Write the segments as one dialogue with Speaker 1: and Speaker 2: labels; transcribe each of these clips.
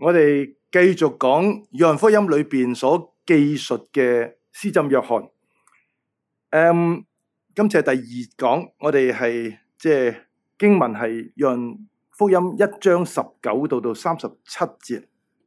Speaker 1: 我哋繼續講約翰福音裏邊所記述嘅施浸約翰。今次係第二講，我哋係經文係約翰福音1章19到37節。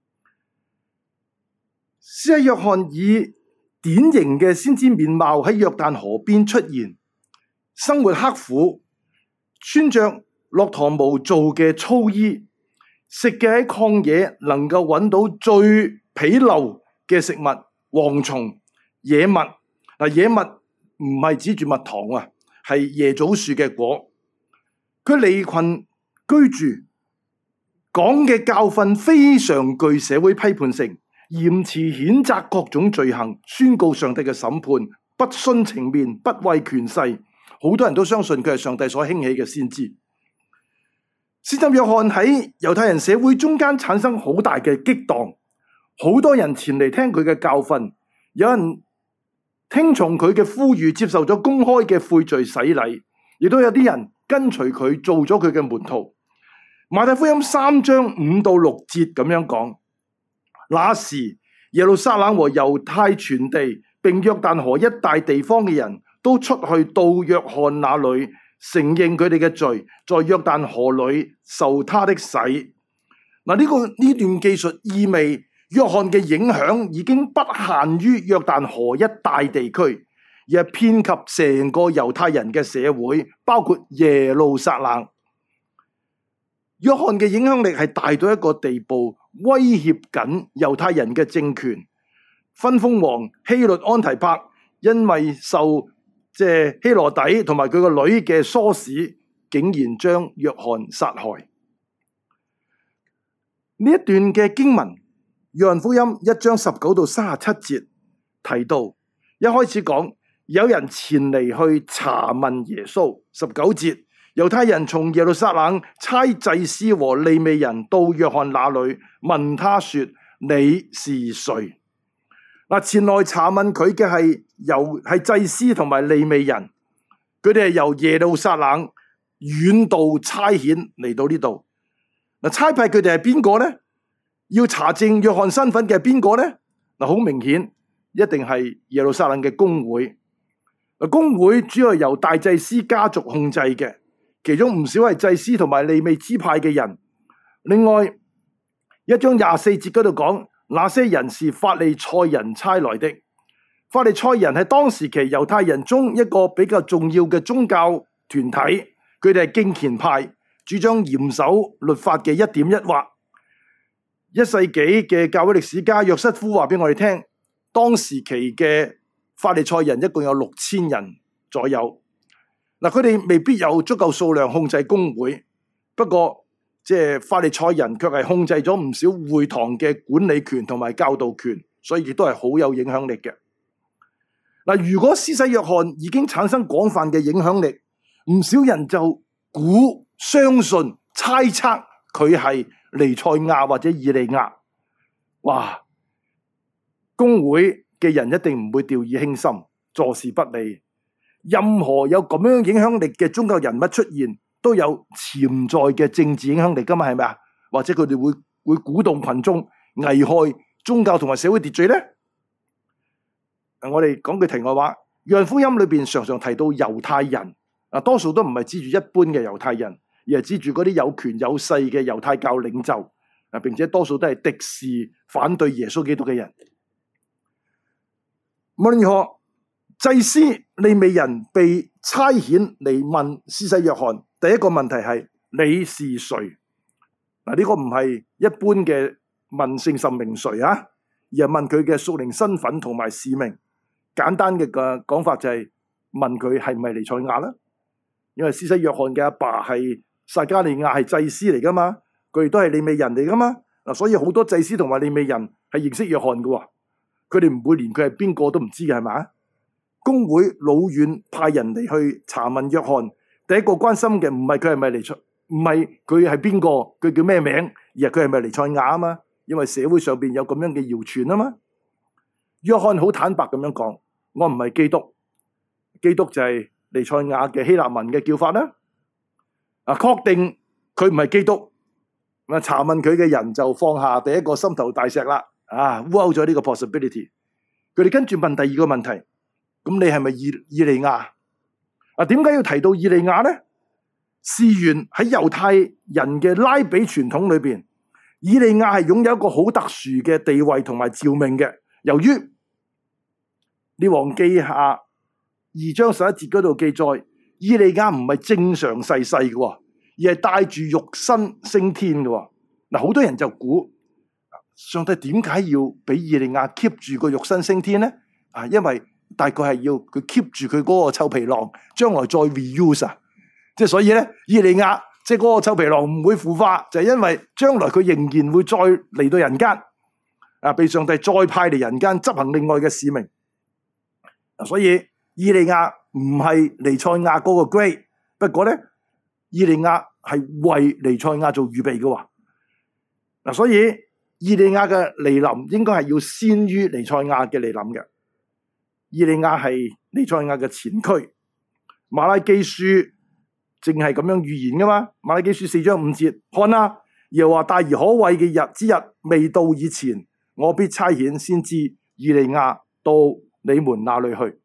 Speaker 1: 施洗約翰以典型嘅先知面貌喺約旦河邊出現，生活刻苦，穿着駱駝毛做嘅粗衣，食嘅喺曠野能夠揾到最鄙陋嘅食物，蝗蟲、野蜜。野蜜唔係指住蜜糖啊，係椰棗樹嘅果。佢離群居住，講嘅教訓非常具社會批判性，嚴詞譴責各種罪行，宣告上帝嘅審判，不徇情面，不畏權勢。好多人都相信佢係上帝所興起嘅先知。施浸約翰喺猶太人社會中間產生好大嘅激盪，好多人前嚟聽佢嘅教訓，有人聽從佢嘅呼籲，接受咗公開嘅悔罪洗禮，亦都有啲人跟隨佢做咗佢嘅門徒。馬太福音3章5到6節咁樣講：那時耶路撒冷和猶太全地並約旦河一帶地方嘅人都出去到約翰那裏，承認佢哋嘅罪，在約旦河裏受他的洗。呢段記述意味約翰嘅影響已經不限於約旦河一帶地區，而係遍及成個猶太人嘅社會，包括耶路撒冷。約翰嘅影響力係大到一個地步，威脅緊猶太人嘅政權。分封王希律安提帕因為受希羅底同埋佢個女嘅唆使，竟然將約翰殺害。呢一段嘅經文，約翰福音1章19到37節提到，一開始講有人前嚟去查問耶穌。19節，猶太人從耶路撒冷差祭司和利未人到約翰那裏，問他說：你是誰？前來查問佢嘅係祭司同埋利未人，佢哋係由耶路撒冷遠道差遣嚟到呢度。差派佢哋係邊個呢？要查證約翰身份嘅係邊個呢？好明顯，一定係耶路撒冷嘅公會。公會主要係由大祭司家族控制嘅，其中唔少係祭司同埋利未支派嘅人。另外1章24節嗰度講，那些人是法利賽人差來的。法利賽人係當時期猶太人中一個比較重要嘅宗教團體，佢哋係敬虔派，主張嚴守律法嘅一點一劃。1世紀嘅教會歷史家約瑟夫話俾我哋聽，當時期嘅法利賽人一共有6000人左右。佢哋未必有足夠數量控制公會，不過法利賽人卻係控制咗唔少會堂嘅管理權同埋教導權，所以亦都係好有影響力嘅。如果施洗約翰已經產生廣泛嘅影響力，唔少人就相信、猜測佢係彌賽亞或者以利亞。哇！公會嘅人一定唔會掉以輕心，坐視不理。任何有咁樣影響力嘅宗教人物出現，都有潛在嘅政治影響力噶嘛，係咪啊？或者佢哋會鼓動群眾，危害宗教同埋社會秩序呢？我哋講句題外話，約翰福音裏邊常常提到猶太人，多數都唔係指住一般嘅猶太人，而係指住嗰啲有權有勢嘅猶太教領袖，並且多數都係敵視反對耶穌基督嘅人。無論如何，祭司利未人被差遣嚟問施洗約翰，第一個問題係你是誰？呢個唔係一般嘅問姓甚名誰啊，而係問佢嘅屬靈身份同埋使命。簡單嘅講法就係問佢係唔係彌賽亞啦，因為施洗約翰嘅阿爸係撒迦利亞，係祭司嚟噶嘛，佢哋都係利未人嚟噶嘛。所以好多祭司同埋利未人係認識約翰嘅，佢哋唔會連佢係邊個都唔知嘅，係咪？公會老遠派人嚟去查問約翰，第一個關心嘅唔係佢係咪彌賽，唔係佢係邊個，佢叫咩名，而係佢係咪彌賽亞啊嘛，因為社會上邊有咁樣嘅謠傳啊嘛。約翰好坦白咁樣講，我唔係基督，基督就係彌賽亞嘅希臘文嘅叫法啦。確定佢唔係基督， 咁查問佢嘅人就放下第一個心頭大石啦，rule out咗呢個 possibility。佢哋跟住問第二個問題，咁你係咪以利亞？點解要提到以利亞呢？事緣喺猶太人嘅拉比傳統裏邊，以利亞係擁有一個好特殊嘅地位同埋召命嘅。由於列王記下2章11節嗰度記載，以利亞唔係正常逝世嘅，而係帶住肉身升天嘅。好多人就估上帝點解要俾以利亞 keep 住個肉身升天呢？因為大概係要佢 keep 住佢嗰個臭皮囊，將來再 reuse 即係所以咧，以利亞即係嗰個臭皮囊唔會腐化，就係因為將來佢仍然會再嚟到人間，被上帝再派嚟人間執行另外嘅使命。所以以利亞唔係彌賽亞嗰個 grade， 不過咧，以利亞係為彌賽亞做預備嘅。所以以利亞嘅來臨應該係要先於彌賽亞嘅來臨嘅。以利亞係彌賽亞嘅前驅。馬拉基書正係咁樣預言噶嘛？馬拉基書4章5節，看啊，耶和華大而可畏嘅日之日未到以前，我必差遣先知以利亞到你們那裏去。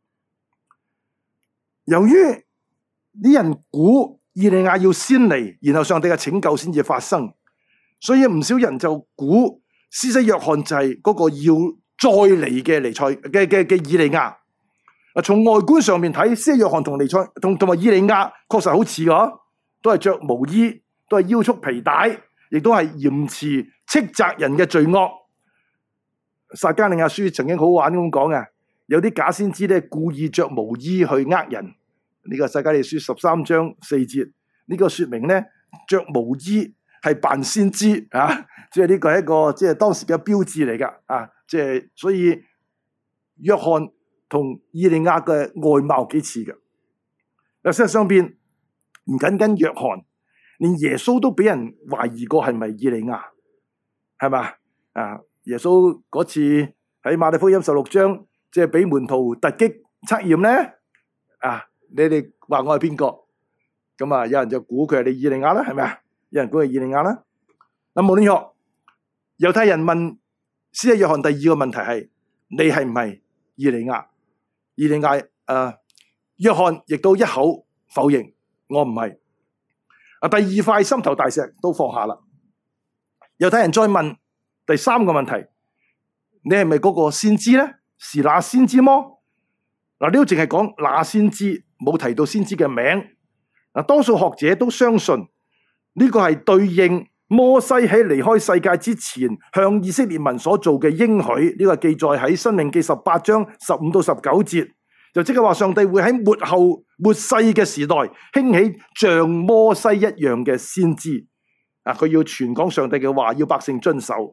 Speaker 1: 由於啲人估以利亞要先嚟，然後上帝嘅拯救先至發生，所以唔少人就估施洗約翰就係嗰個要再嚟嘅彌賽嘅以利亞。從外觀上面睇，施洗約翰同彌賽同埋以利亞確實好似㗎，都係着毛衣，都係腰束皮帶，亦都係嚴詞斥責人嘅罪惡。撒迦利亞書曾經好玩咁講嘅，有啲假先知咧故意着毛衣去呃人。呢個撒迦利亞書13章4節，呢個說明咧着毛衣係扮先知啊，即係呢個係一個即係當時嘅標誌嚟噶啊，即係所以約翰同以利亞嘅外貌幾似嘅。嗱，事實上邊唔僅僅約翰，連耶穌都俾人懷疑過係咪以利亞，係嘛？耶穌嗰次喺馬太福音16章，即係俾門徒突擊測驗咧，你哋話我係邊個？咁有人就估佢係你以利亞啦，係咪啊？有人估係以利亞啦。嗱，無論如何，猶太人問施洗約翰第二個問題係：你係唔係以利亞？以利亞約翰亦都一口否認，我唔係。第二塊心頭大石都放下啦。猶太人再問第三個問題：你係咪嗰個先知咧？是那先知麼？呢度淨係講那先知，冇提到先知嘅名。多數學者都相信呢個係對應摩西喺離開世界之前向以色列民所做嘅應許。呢個記載喺申命記18章15到19節，就即係話上帝會喺末世嘅時代興起像摩西一樣嘅先知。佢要傳講上帝嘅話，要百姓遵守。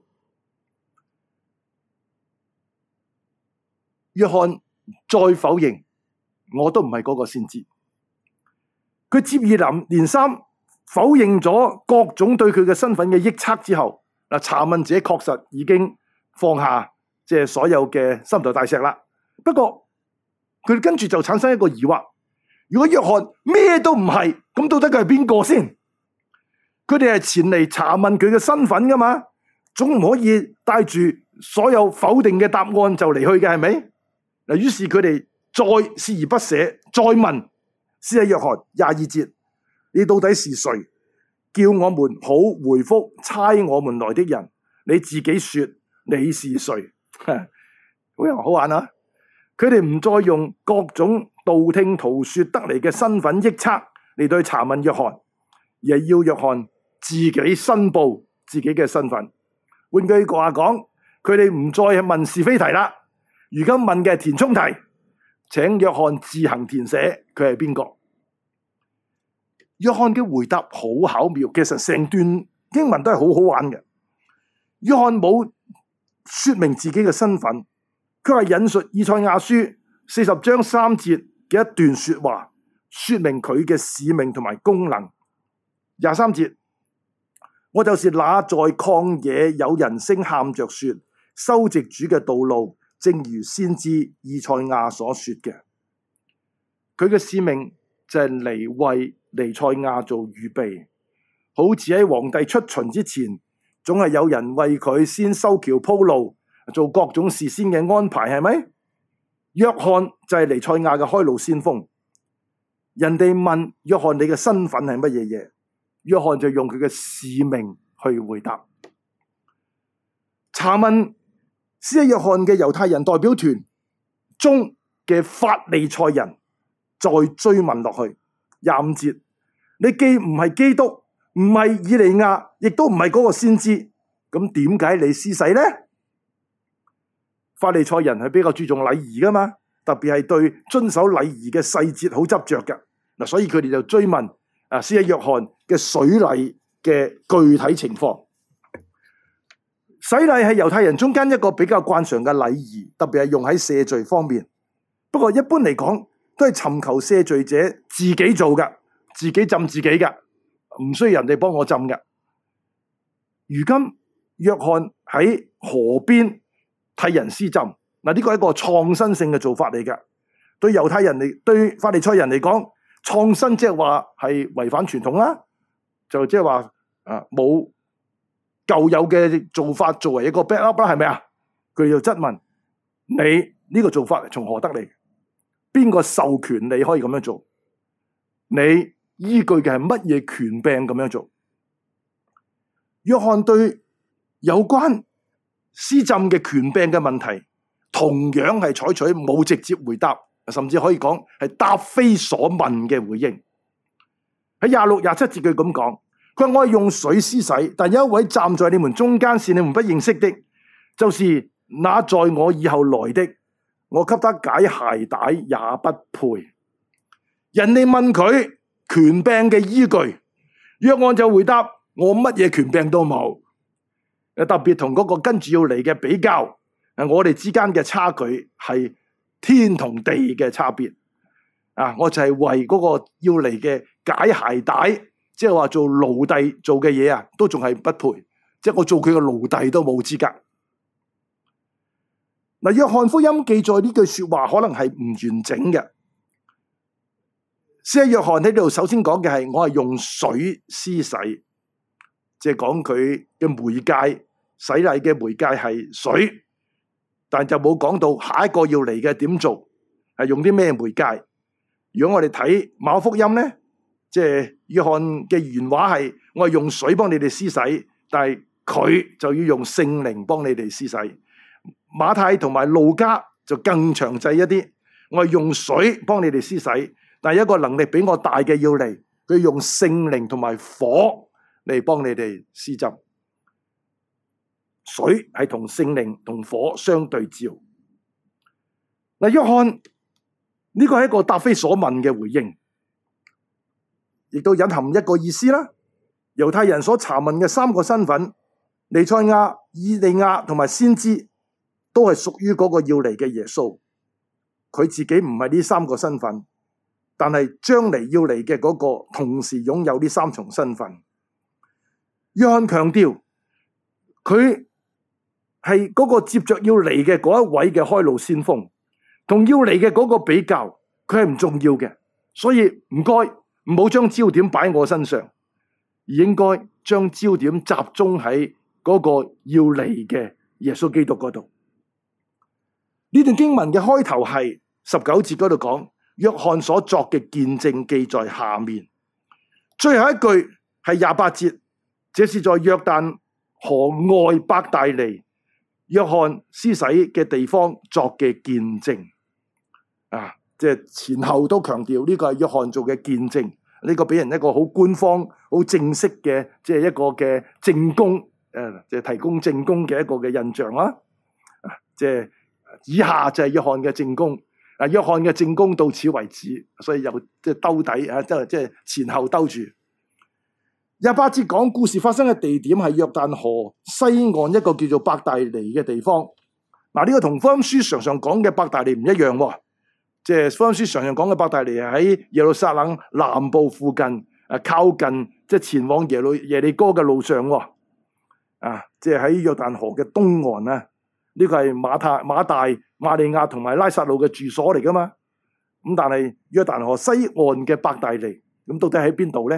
Speaker 1: 約翰再否認，我都唔係嗰個先知。佢接二連三否認咗各種對佢嘅身份嘅臆測之後，查問者確實已經放下即係所有嘅心頭大石啦。不過佢跟住就產生一個疑惑：如果約翰咩都唔係，咁到底佢係邊個先？佢哋係前嚟查問佢嘅身份噶嘛，總唔可以帶住所有否定嘅答案就離去嘅，係咪？於是佢哋再鍥而不捨，再問施洗約翰22節：你到底是誰？叫我們好回覆差我們來的人。你自己說你是誰？好玩啊！佢哋唔再用各種道聽途說得嚟嘅身份臆測嚟對查問約翰，而係要約翰自己申報自己嘅身份。換句話講，佢哋唔再係問是非題啦。如今問嘅係填充題，請約翰自行填寫佢係邊個。約翰嘅回答好巧妙，其實成段經文都係好好玩嘅。約翰冇說明自己嘅身份，佢係引述以賽亞書40章3節嘅一段說話，說明佢嘅使命同埋功能。23節，我就是那在曠野有人聲喊着說，修直主嘅道路，正如先知以賽亞所說嘅。佢嘅使命就係嚟為彌賽亞做預備， 好似喺皇帝出巡之前，總係有人為佢先修橋鋪路，做各種事先嘅安排，係咪？約翰就係彌賽亞嘅開路先鋒。人哋問約翰你嘅身份係乜嘢嘢？約翰就用佢嘅使命去回答。查問施洗約翰嘅猶太人代表團中嘅法利賽人再追問落去，25節，你既唔係基督，唔係以利亞，亦都唔係嗰個先知，咁點解你施洗呢？法利賽人係比較注重禮儀噶嘛，特別係對遵守禮儀嘅細節好執着嘅嗱，所以佢哋就追問施洗約翰嘅水禮嘅具體情況。洗禮係猶太人中間一個比較慣常嘅禮儀，特別係用喺赦罪方面。不過一般嚟講，都係尋求赦罪者自己做嘅，自己浸自己嘅，唔需要人哋幫我浸嘅。如今約翰喺河邊替人施浸，呢個係一個創新性嘅做法嚟嘅。對猶太人嚟，對法利賽人嚟講，創新即係話係違反傳統啦，就即係話冇舊有嘅做法作為一個 backup 啦，係咪啊？佢哋就質問你呢個做法從何得嚟？邊個授權你可以咁樣做？你依據嘅係乜嘢權柄咁樣做？約翰對有關施浸嘅權柄嘅問題，同樣係採取冇直接回答，甚至可以講係答非所問嘅回應。喺26、27節佢咁講，佢話我係用水施洗，但有一位站在你們中間是你們不認識的，就是那在我以後來的，我給他解鞋帶也不配。人哋問佢權柄嘅依據，約翰就回答我乜嘢權柄都冇。特別同嗰個跟住要嚟嘅比較，我哋之間嘅差距係天同地嘅差別。我就係為嗰個要嚟嘅解鞋帶，即係話做奴隸做嘅嘢都仲係不配，即係我做佢嘅奴隸都冇資格。約翰福音記載呢句說話可能係唔完整嘅。施洗約翰喺呢度首先講嘅係我係用水施洗，即係講佢嘅媒介，洗禮嘅媒介係水，但就冇講到下一個要嚟嘅點做，係用啲咩媒介。如果我哋睇馬可福音呢，即係約翰嘅原話係我係用水幫你哋施洗，但係佢就要用聖靈幫你哋施洗。馬太同埋路加就更詳細一啲，我係用水幫你哋施洗，但係一個能力比我大嘅要嚟，佢用聖靈同埋火嚟幫你哋施浸。水係同聖靈同火相對照。約翰呢個係一個答非所問嘅回應，亦都隱含一個意思啦。猶太人所查問嘅三個身份，彌賽亞、以利亞同埋先知，都係屬於嗰個要嚟嘅耶穌。佢自己唔係呢三個身份，但係將嚟要嚟嘅嗰個同時擁有呢三重身份。約翰強調佢係嗰個接着要嚟嘅嗰一位嘅開路先鋒，同要嚟嘅嗰個比較，佢係唔重要嘅。所以唔該唔好將焦點擺喺我身上，而應該將焦點集中喺嗰個要嚟嘅耶穌基督嗰度。呢段經文嘅開頭係19節嗰度講，約翰所作嘅見證記在下面。最後一句係28節，這是在約旦河外伯大尼，約翰施洗嘅地方作嘅見證。即係前後都強調呢個係約翰做嘅見證，呢個俾人一個好官方、好正式嘅，即係一個嘅證供，即係提供證供嘅一個嘅印象啦。即係以下就係約翰嘅證供，約翰嘅證供到此為止，所以又即係兜底即係前後兜住。28節講故事發生嘅地點係約旦河西岸一個叫做伯大尼嘅地方。呢個同福音書常常講嘅伯大尼唔一樣喎。即係福音書常常講嘅伯大尼係喺耶路撒冷南部附近，靠近即係前往耶利哥嘅路上喎。即係喺約旦河嘅東岸啊。呢個係馬大、馬利亞同埋拉撒路嘅住所嚟噶嘛。咁但係約旦河西岸嘅伯大尼，咁到底喺邊度咧？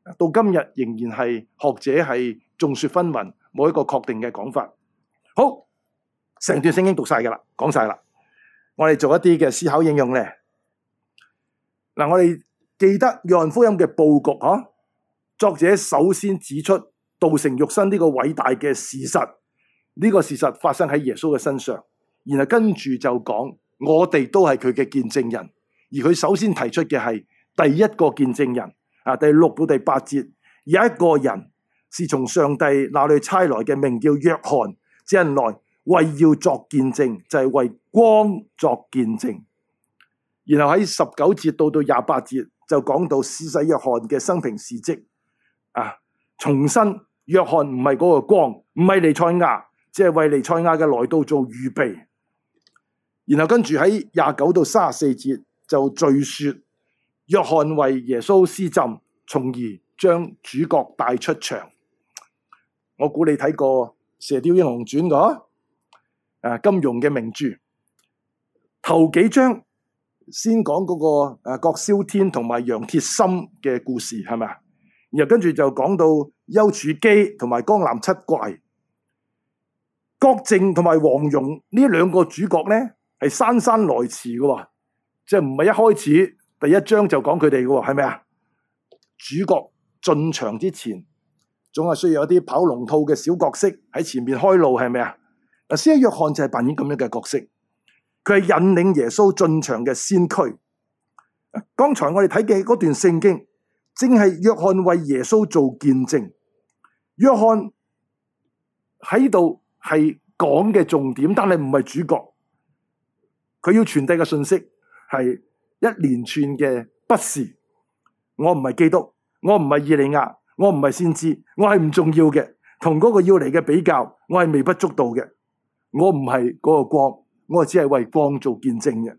Speaker 1: 到今日仍然係學者係眾說紛紜，冇一個確定嘅講法。好，成段聖經讀晒噶啦，講晒啦。我哋做一啲嘅思考應用咧。嗱，我哋記得約翰福音嘅佈局嗬，作者首先指出道成肉身呢個偉大嘅事實，呢個事實發生喺耶穌嘅身上，然後跟住就講我哋都係佢嘅見證人，而佢首先提出嘅係第一個見證人啊，第6到第8節，有一個人是從上帝那裏差來嘅，名叫約翰，這人來為要作見證，就係為光作見證。然後喺19節到28節就講到施洗約翰嘅生平事蹟啊，重申約翰唔係嗰個光，唔係彌賽亞，只係為彌賽亞嘅來到做預備。然後跟住喺29到34節就敘說約翰為耶穌施浸，從而將主角帶出場。我估你睇過《射雕英雄傳》金庸嘅名著，頭幾章先講嗰個郭蕭天同埋楊鐵心嘅故事，係咪啊？然後跟住就講到丘處機同埋江南七怪，郭靖同埋黃蓉呢兩個主角咧係姍姍來遲嘅，即係唔係一開始第一章就講佢哋嘅，係咪啊？主角進場之前，總係需要有啲跑龍套嘅小角色喺前面開路，係咪啊？嗱，施洗約翰就係扮演咁樣嘅角色，佢係引領耶穌進場嘅先驅。剛才我哋睇嘅嗰段聖經，正係約翰為耶穌做見證。約翰喺度係講嘅重點，但係唔係主角。佢要傳遞嘅信息係一連串嘅不是。我唔係基督，我唔係以利亞，我唔係先知，我係唔重要嘅。同嗰個要嚟嘅比較，我係微不足道嘅。我唔係嗰個光，我只係為光做見證嘅。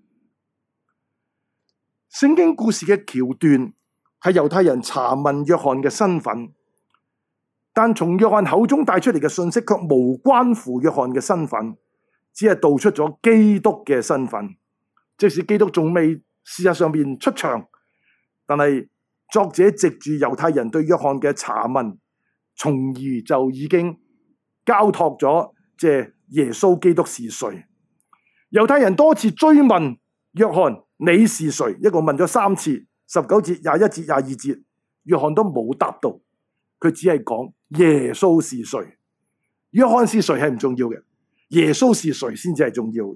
Speaker 1: 聖經故事嘅橋段係猶太人查問約翰嘅身份，但從約翰口中帶出嚟嘅信息卻無關乎約翰嘅身份，只係道出咗基督嘅身份。即使基督仲未事實上面出場，但係作者藉住猶太人對約翰嘅查問，從而就已經交託咗即係耶穌基督是誰。猶太人多次追問約翰你是誰，一共問咗3次，19節、21節、22節，約翰都冇答到，佢只係講耶穌是誰。約翰是誰係唔重要嘅，耶穌是誰先至係重要嘅。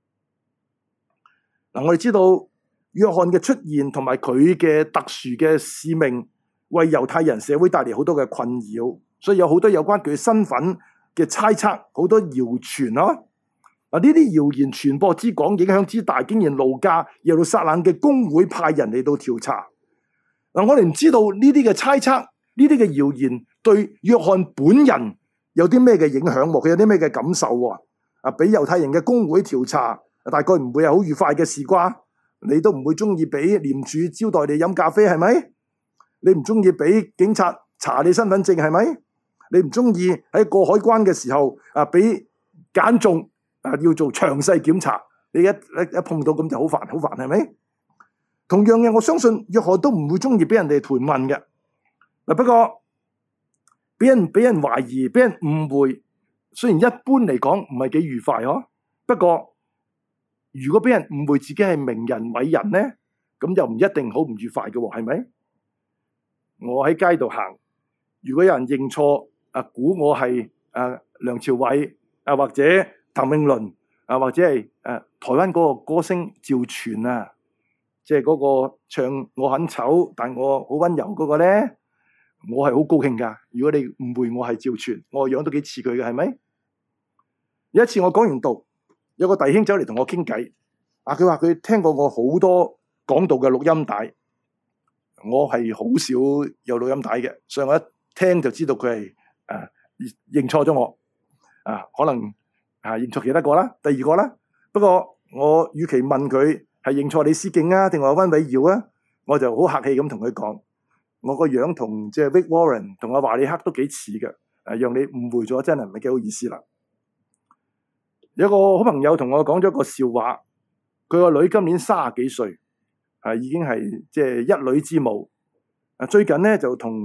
Speaker 1: 我哋知道約翰嘅出現同埋佢嘅特殊嘅使命，為猶太人社會帶嚟好多嘅困擾，所以有好多有關佢身份嘅猜測，好多謠傳咯。呢啲謠言傳播之廣，影響之大，竟然路加耶路撒冷嘅公會派人嚟到調查。我哋唔知道呢啲嘅猜測，呢啲嘅謠言對約翰本人有啲咩嘅影響，佢有啲咩嘅感受喎？俾猶太人嘅公會調查，大概唔會係好愉快嘅事啩？你都唔會中意俾廉署招待你飲咖啡，係咪？你唔中意俾警察查你身份證，係咪？你唔中意喺過海關嘅時候俾揀中要做詳細檢查，你一碰到咁就好煩，好煩，係咪？同樣嘅，我相信約翰都唔會中意俾人哋盤問嘅。不過俾人懷疑、俾人誤會，雖然一般嚟講唔係幾愉快不過如果俾人誤會自己係名人偉人呢，咁就唔一定好唔愉快嘅，係咪？我喺街度行，如果有人認錯估我係梁朝偉或者譚詠麟或者係台灣嗰個歌星趙傳即係嗰個唱我很醜但我好溫柔嗰個呢，我係好高興噶。如果你誤會我係趙傳，我個樣都幾似佢嘅，係咪？有一次我講完道，有個弟兄走嚟同我傾偈，佢話佢聽過我好多講道嘅錄音帶，我係好少有錄音帶嘅，所以我一聽就知道佢係認錯咗我，可能認錯其他個啦，第二個啦。不過我與其問佢係認錯李思敬定係溫偉耀我就好客氣咁同佢講，我個樣同即係 Rick Warren 同阿華利克都幾似嘅，讓你誤會咗真係唔係幾好意思啦。有個好朋友同我講咗個笑話，佢個女今年30幾歲，已經係即係一女之母。最近咧就同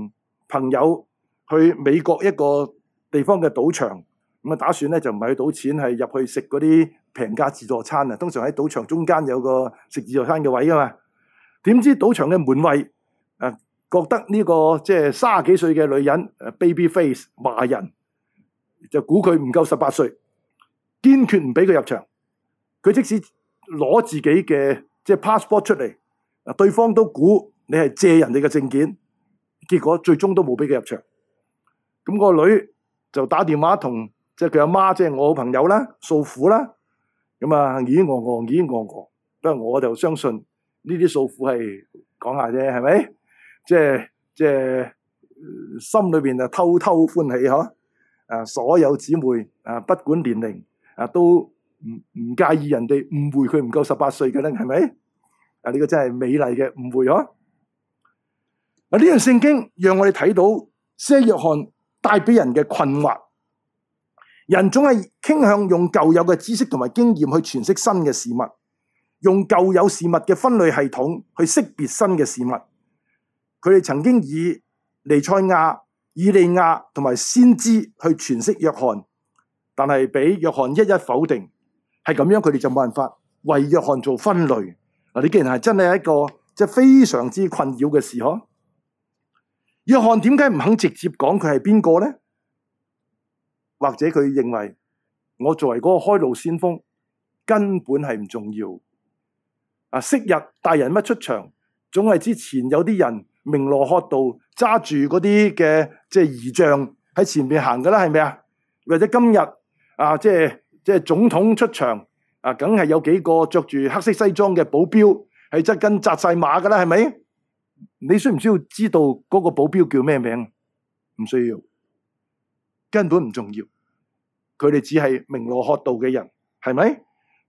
Speaker 1: 朋友去美國一個地方嘅賭場，咁啊打算咧就唔係去賭錢，係入去食嗰啲平價自助餐啊。通常喺賭場中間有個食自助餐嘅位噶嘛。點知賭場嘅門衛覺得呢個即係30幾歲嘅女人baby face 華人，就估佢唔夠18歲，堅決唔俾佢入場。佢即使攞自己嘅即係 passport 出嚟，對方都估你係借人哋嘅證件，結果最終都冇俾佢入場。咁個女就打電話同即係佢阿媽，即係我好朋友啦，訴苦啦。咁啊，咦咿咿不過我就相信呢啲訴苦係講下啫，係咪？即係心裏邊偷偷歡喜嗬。所有姊妹不管年齡都唔介意人哋誤會佢唔夠18歲嘅咧，係咪？呢個真係美麗嘅誤會嗬。呢樣聖經讓我哋睇到施洗約翰帶俾人嘅困惑。人總係傾向用舊有嘅知識同埋經驗去詮釋新嘅事物，用舊有事物嘅分類系統去識別新嘅事物。佢哋曾經以彌賽亞、以利亞同埋先知去詮釋約翰，但係俾約翰一一否定。係咁樣，佢哋就冇辦法為約翰做分類。你既然係真係一個即係非常之困擾嘅事嗬。約翰點解唔肯直接講佢係邊個呢？或者佢認為我作為嗰個開路先鋒根本係唔重要。昔日大人物出場，總係之前有啲人明羅喝道揸住嗰啲嘅即係儀仗喺前面行噶啦，係咪啊？或者今日即係總統出場梗係有幾個着住黑色西裝嘅保鏢喺側跟紮晒馬噶啦，係咪？你需唔需要知道嗰個保鏢叫咩名？唔需要，根本唔重要。佢哋只係明羅喝道嘅人，係咪？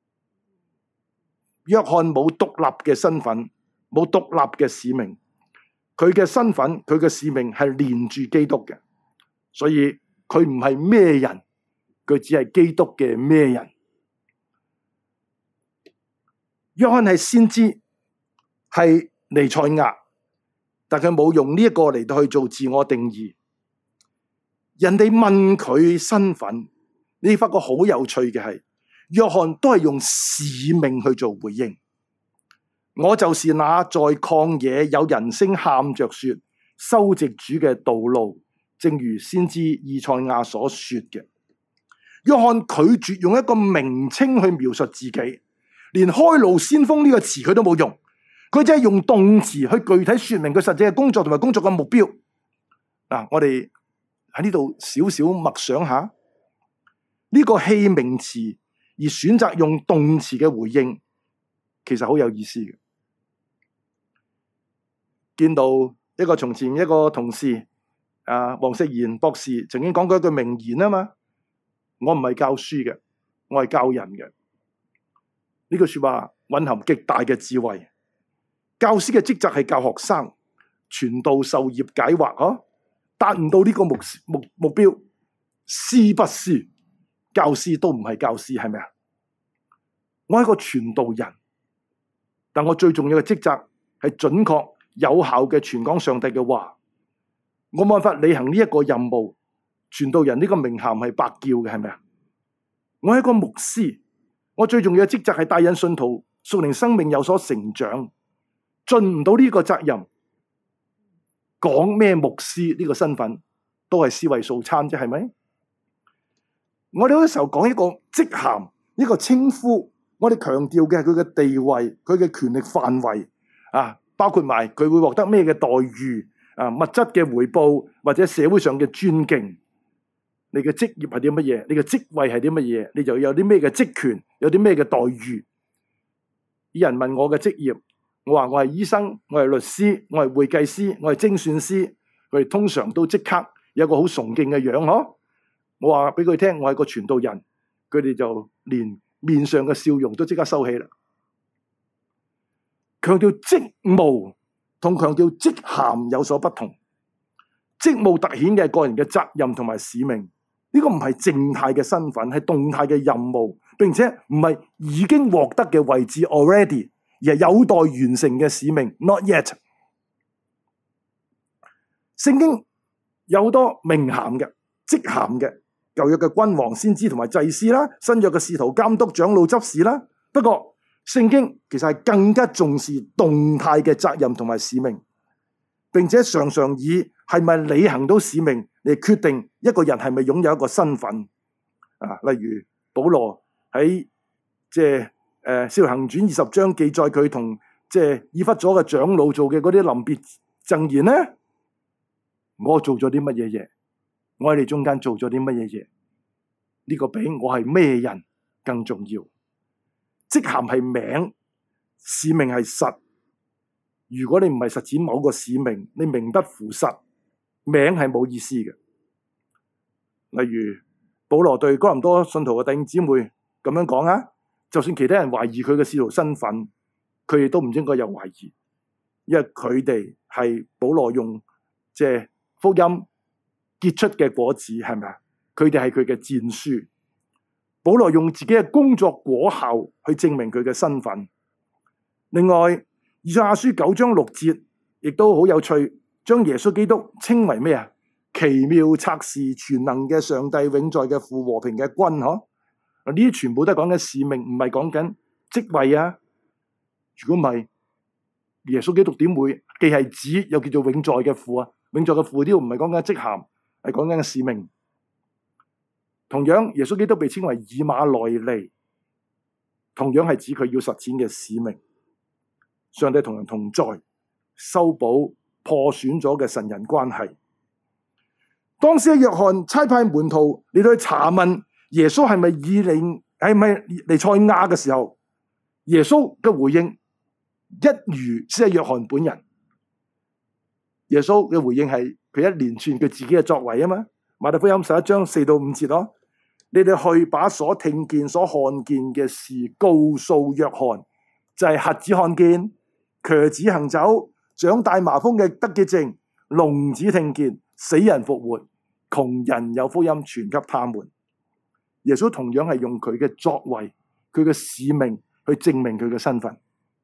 Speaker 1: 約翰冇獨立嘅身份，冇獨立嘅使命。佢嘅身份，佢嘅使命係連住基督嘅，所以佢唔係咩人。佢只係基督嘅咩人？約翰係先知，係彌賽亞，但佢冇用呢一個嚟到去做自我定義。人哋問佢身份，你發覺好有趣嘅係，約翰都係用使命去做回應。我就是那在曠野有人聲喊着說，修直主嘅道路，正如先知以賽亞所說嘅。約翰拒絕用一個名稱去描述自己，連開路先鋒呢個詞佢都冇用，佢只係用動詞去具體說明佢實際嘅工作同埋工作嘅目標。我哋喺呢度少少默想下，呢個器名詞而選擇用動詞嘅回應，其實好有意思嘅。見到一個從前一個同事黃石賢博士曾經講過一句名言啊嘛。我唔係教書嘅，我係教人嘅。呢句說話蘊含極大嘅智慧。教師嘅職責係教學生傳道授業解惑，達唔到呢個目標，師不師，教師都唔係教師，係咪啊？我係個傳道人，但我最重要嘅職責係準確有效嘅傳講上帝嘅話。我冇辦法履行呢一個任務。傳道人呢個名銜係白叫嘅，係咪啊？我係一個牧師，我最重要嘅職責係帶領信徒屬靈生命有所成長。盡唔到呢個責任，講咩牧師呢個身份都係思維素餐啫，係咪？我哋好多時候講一個職銜，一個稱呼，我哋強調嘅係佢嘅地位，佢嘅權力範圍包括埋佢會獲得咩嘅待遇物質嘅回報或者社會上嘅尊敬。你嘅職業係啲乜嘢？你嘅職位係啲乜嘢？你就有啲咩嘅職權，有啲咩嘅待遇。有人問我嘅職業，我話我係醫生，我係律師，我係會計師，我係精算師。佢哋通常都即刻有個好崇敬嘅樣。我話俾佢聽，我係個傳道人，佢哋就連面上嘅笑容都即刻收起啦。強調職務同強調職銜有所不同。職務凸顯嘅係個人嘅責任同埋使命。呢個唔係靜態嘅身份，係動態嘅任務，並且唔係已經獲得嘅位置 already， 而係有待完成嘅使命 not yet。聖經有好多名銜嘅、職銜嘅，舊約嘅君王、先知同埋祭司啦，新約嘅使徒、監督、長老、執事啦。不過聖經其實係更加重視動態嘅責任同埋使命，並且常常以係咪履行到使命嚟決定一個人係咪擁有一個身份。例如保羅喺《使徒行傳》20章記載佢同以弗所嘅長老做嘅嗰啲臨別贈言呢，我做咗啲乜嘢嘢？我喺你中間做咗啲乜嘢嘢？呢個比我係咩人更重要。職銜係名，使命係實。如果你唔係實踐某個使命，你名不符實，名係冇意思嘅。例如保羅對哥林多信徒嘅弟兄姊妹咁樣講啊，就算其他人懷疑佢嘅使徒身份，佢哋都唔應該有懷疑，因為佢哋係保羅用福音結出嘅果子，係咪啊？佢哋係佢嘅薦書。保羅用自己嘅工作果效去證明佢嘅身份。另外，以賽亞書9章6節亦都好有趣，將耶穌基督稱為咩啊？奇妙策士、全能嘅上帝、永在嘅父、和平嘅君。呢啲全部都係講緊使命，唔係講緊職位啊。如果唔係，耶穌基督點會既係子又叫做永在嘅父啊？永在嘅父呢度唔係講緊職銜，係講緊使命。同樣，耶穌基督被稱為以馬內利，同樣係指佢要實踐嘅使命。上帝同人同在，修補破損咗嘅神人關係。當時約翰差派門徒嚟到去查問耶穌係咪彌賽亞嘅時候，耶穌嘅回應一如先係約翰本人。耶穌嘅回應係佢一連串佢自己嘅作為啊嘛。馬太福音11章4到5節咯。你哋去把所聽見、所看見嘅事告訴約翰，就係瞎子看見、瘸子行走、長大麻風嘅得潔淨、聾子聽見、死人復活、窮人有福音傳給他們。耶穌同樣係用佢嘅作為、佢嘅使命去證明佢嘅身份。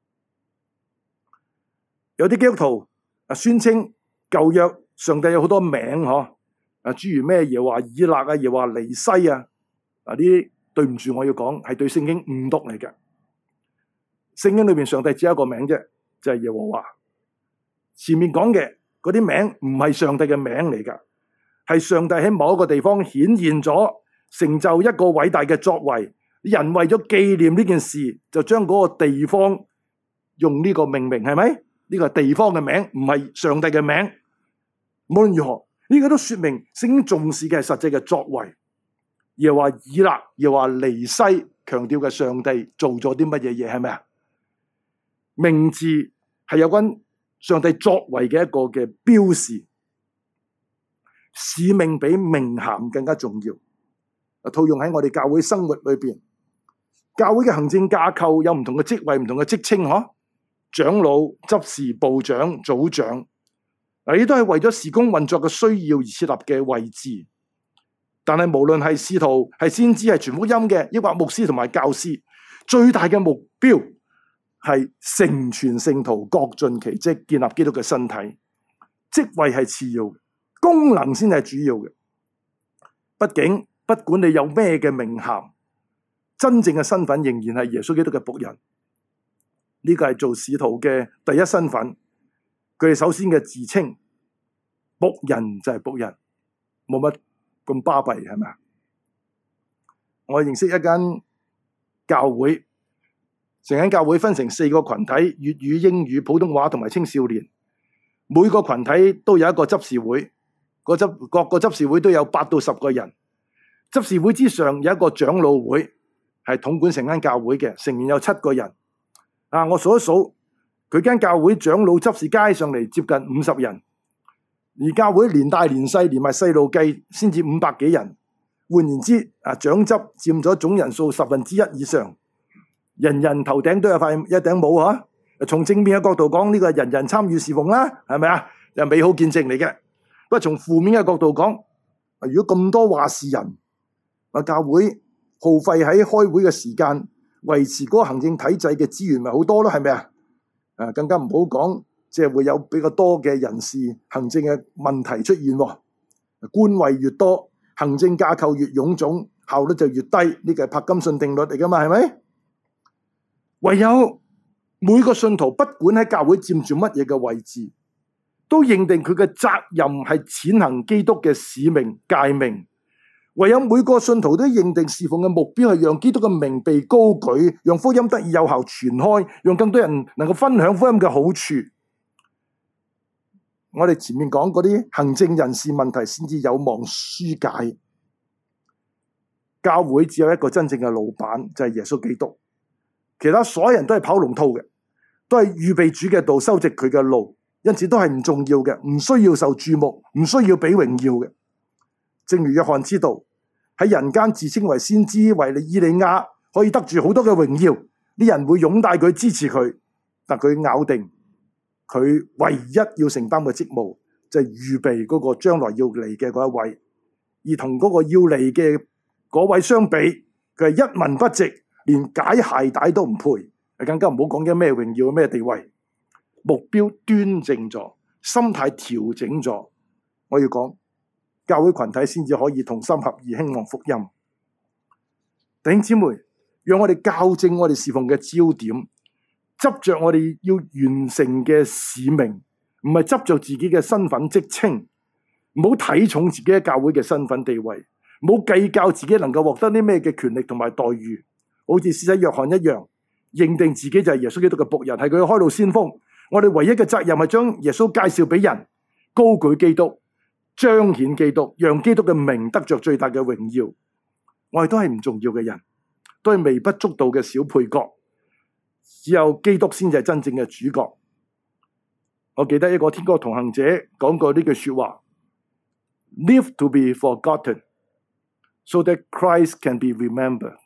Speaker 1: 有啲基督徒宣稱舊約上帝有好多名，諸如咩耶和華以勒啊、耶和華尼西啊。呢啲對唔住，我要講係對聖經誤讀嚟嘅。聖經裏面上帝只有一個名啫，就係耶和華。前面講嘅嗰啲名唔係上帝嘅名嚟噶，係上帝喺某一個地方顯現咗，成就一個偉大嘅作為。人為咗紀念呢件事，就將嗰個地方用呢個命名，係咪？呢個係地方嘅名，唔係上帝嘅名。無論如何，呢個都說明聖經重視嘅係實際嘅作為。又話以勒，又話尼西，強調嘅上帝做咗啲乜嘢嘢，係咪啊？名字係有關上帝作為嘅一個嘅標示，使命比名銜更加重要。套用喺我哋教會生活裏邊，教會嘅行政架構有唔同嘅職位、唔同嘅職稱，長老、執事、部長、組長，呢啲都係為咗事工運作嘅需要而設立嘅位置。但係無論係使徒、係先知、係傳福音嘅，抑或牧師同埋教師，最大嘅目標係成全聖徒，各盡其職，建立基督嘅身體。職位係次要嘅，功能先係主要嘅。畢竟不管你有咩嘅名銜，真正嘅身份仍然係耶穌基督嘅僕人。呢個係做使徒嘅第一身份。佢哋首先嘅自稱僕人就係僕人，冇乜咁巴閉，係咪啊？我認識一間教會，成間教會分成4個群體：粵語、英語、普通話同埋青少年。每個群體都有一個執事會，各個執事會都有8到10個人。執事會之上有一個長老會，係統管成間教會嘅，成員有7個人。我數一數，佢間教會長老執事加上嚟接近50人。而教會連大連細連埋細路計，先至500幾人。換言之，長執佔咗總人數1/10以上。人人頭頂都有一頂帽啊！從正面嘅角度講，呢個係人人參與侍奉啦，係咪啊？又美好見證嚟嘅。不過從負面嘅角度講，如果咁多話事人，教會耗費喺開會嘅時間，維持嗰個行政體制嘅資源咪好多咯？係咪啊？更加唔好講。即係會有比較多嘅人事行政嘅問題出現， 官位越多，行政架構越臃腫，效率就越低。呢個係柏金遜定律嚟噶嘛，係咪？唯有每個信徒不管喺教會佔住乜嘢嘅位置，都認定佢嘅責任係踐行基督嘅使命誡命。唯有每個信徒都認定侍奉嘅目標係讓基督嘅名被高舉，讓福音得以有效傳開，讓更多人能夠分享福音嘅好處。我哋前面講嗰啲行政人事問題先至有望紓解。教會只有一個真正嘅老闆，就係耶穌基督。其他所有人都係跑龍套嘅，都係預備主嘅道，修直佢嘅路，因此都係唔重要嘅，唔需要受注目，唔需要俾榮耀嘅。正如約翰知道，喺人間自稱為先知、為以利亞，可以得住好多嘅榮耀，啲人會擁戴佢、支持佢，但佢咬定佢唯一要承擔嘅職務就係預備嗰個將來要嚟嘅嗰一位，而同嗰個要嚟嘅嗰位相比，佢係一文不值，連解鞋帶都唔配，更加唔好講緊咩榮耀、咩地位。目標端正咗，心態調整咗，我要講教會群體先至可以同心合意興旺福音。弟兄姊妹，讓我哋校正我哋侍奉嘅焦點，執着我哋要完成嘅使命，唔係執着自己嘅身份職稱，唔好睇重自己喺教會嘅身份地位，唔好計較自己能夠獲得啲咩嘅權力同埋待遇，好似施洗約翰一樣，認定自己就係耶穌基督嘅僕人，係佢嘅開路先鋒。我哋唯一嘅責任係將耶穌介紹俾人，高舉基督，彰顯基督，讓基督嘅名得着最大嘅榮耀。我哋都係唔重要嘅人，都係微不足道嘅小配角，只有基督先至係真正嘅主角。我記得一個天國同行者講過呢句說話 ：Live to be forgotten, so that Christ can be remembered。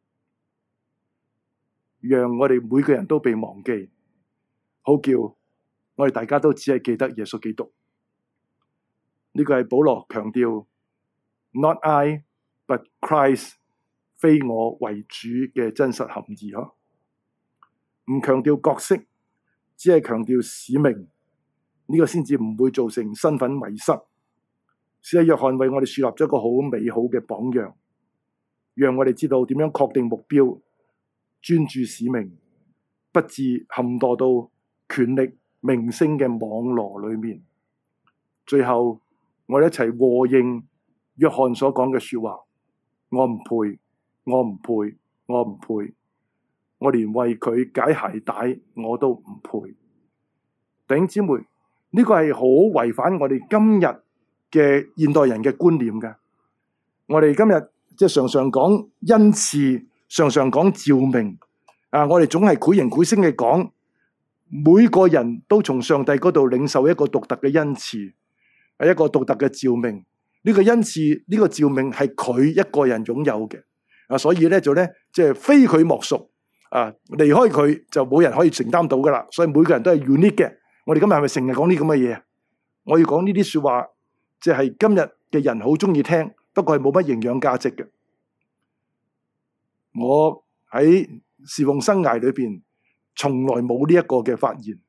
Speaker 1: 讓我哋每個人都被忘記，好叫我哋大家都只係記得耶穌基督。呢個係保羅強調 Not I, but Christ， 非我為主嘅真實含義嗬。唔強調角色，只係強調使命，呢個先至唔會造成身份迷失。施洗約翰為我哋樹立咗一個好美好嘅榜樣，讓我哋知道點樣確定目標，專注使命，不致陷墮到權力名聲嘅網羅裏面。最後我哋一齊和應約翰所講嘅說話：我唔配，我唔配，我唔配，我連為佢解鞋帶我都唔配。弟兄姊妹，呢個係好違反我哋今日嘅現代人嘅觀念嘅。我哋今日即係常常講恩賜，常常講召命我哋總係繪形繪聲嘅講，每個人都從上帝嗰度領受一個獨特嘅恩賜，係一個獨特嘅召命。呢個恩賜，呢個召命係佢一個人擁有嘅所以咧就咧即係非佢莫屬離開佢就冇人可以承擔到噶啦。所以每個人都係 unique 嘅。我哋今日係咪成日講呢咁嘅嘢？我要講呢啲說話，即係今日嘅人好中意聽，不過係冇乜營養價值嘅。我喺侍奉生涯裏邊，從來冇呢一個嘅發現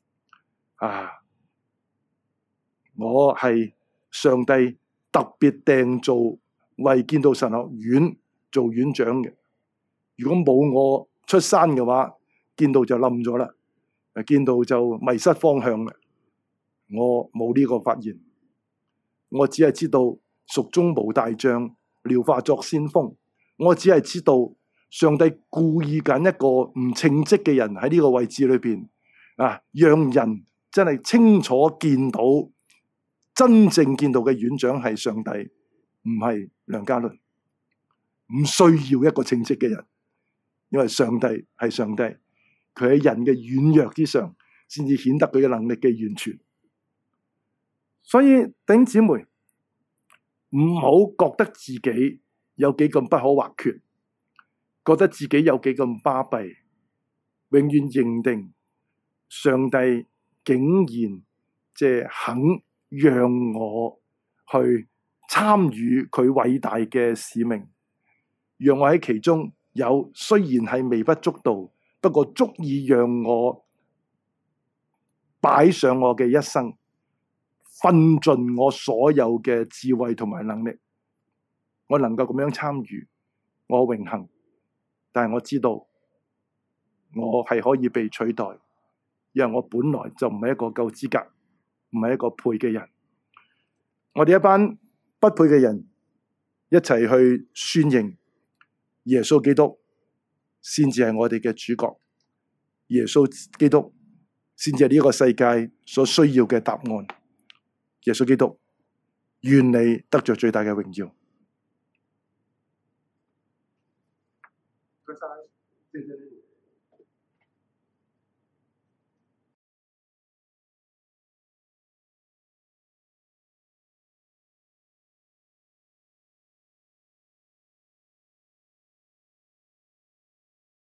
Speaker 1: 我係上帝特別訂造為建道神學院做院長嘅。如果冇我出山嘅話，建道就冧咗啦，建道就迷失方向啦。我冇呢個發現，我只係知道蜀中無大將，廖化作先鋒。我只係知道上帝故意揀一個唔稱職嘅人喺呢個位置裏邊讓人真係清楚見到真正見到嘅院長係上帝，唔係梁家麟。唔需要一個稱職嘅人，因為上帝係上帝，佢喺人嘅軟弱之上，先至顯得佢嘅能力嘅完全。所以弟兄姊妹，唔好覺得自己有幾咁不可或缺，覺得自己有幾咁巴閉，永遠認定上帝竟然即係肯讓我去參與佢偉大嘅使命，讓我喺其中有雖然係微不足道，不過足以讓我擺上我嘅一生， 奮盡我所有嘅智慧同埋能力，我能夠咁樣參與，我榮幸。但係我知道我係可以被取代，因為我本來就唔係一個夠資格，唔係一個配嘅人。我哋一班不配嘅人一齊去宣認耶穌基督先至係我哋嘅主角，耶穌基督先至係呢個世界所需要嘅答案。耶穌基督，願你得着最大嘅榮耀。謝謝。